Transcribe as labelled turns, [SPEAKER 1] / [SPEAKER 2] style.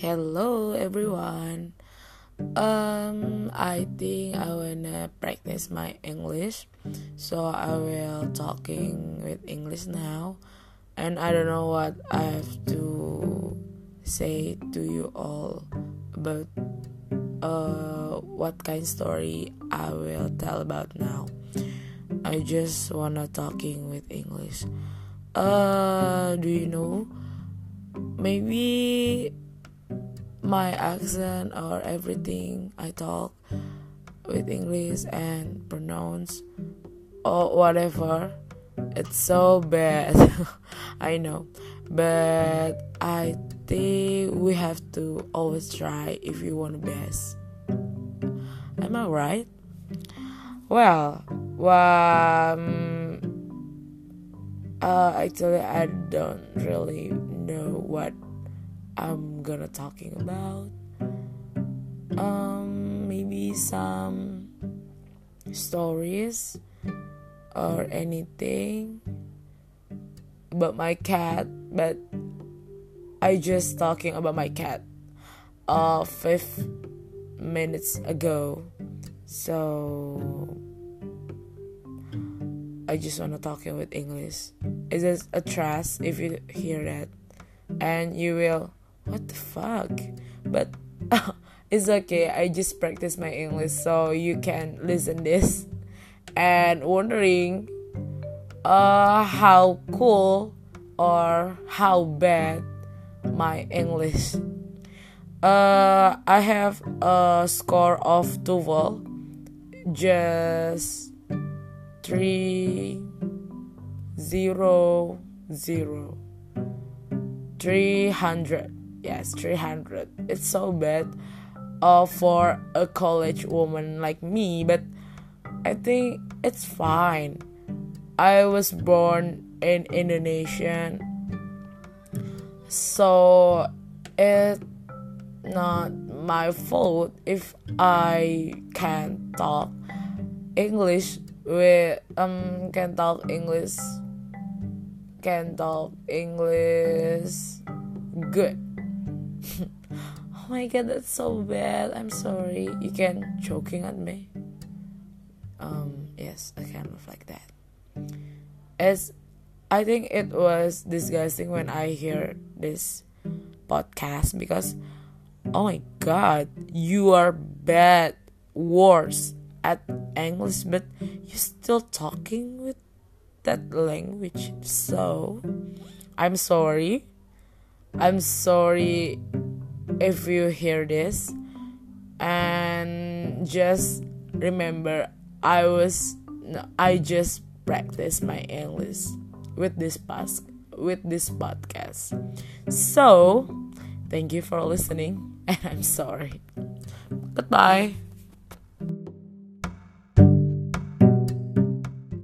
[SPEAKER 1] Hello everyone. I think I wanna practice my English, so I will talking with English now, and I don't know what I have to say to you all about what kind story I will tell about now. I just wanna talking with English. Do you know? Maybe my accent or everything I talk with English and pronounce or whatever, it's so bad. I know, but I think we have to always try if you want the best. Am I right? Well, actually I don't really know what I'm gonna talking about. Maybe some stories or anything about my cat, but I just talking about my cat 5 minutes ago, so I just wanna talking with English. It's just a trust if you hear that, and you will. What the fuck? But it's okay. I just practice my English so you can listen this and wondering how cool or how bad my English. I have a score of 12, just 300. Yes, 300. It's so bad for a college woman like me, but I think it's fine. I was born in Indonesia, so it's not my fault if I can talk English can talk English good. Oh my god, that's so bad. I'm sorry. You can joking at me. Yes, I kind of like that. I think it was disgusting when I hear this podcast because oh my god, you are bad, worse at English, but you still talking with that language. So I'm sorry if you hear this, and just remember I just practice my English with this podcast. So thank you for listening, and I'm sorry. Goodbye.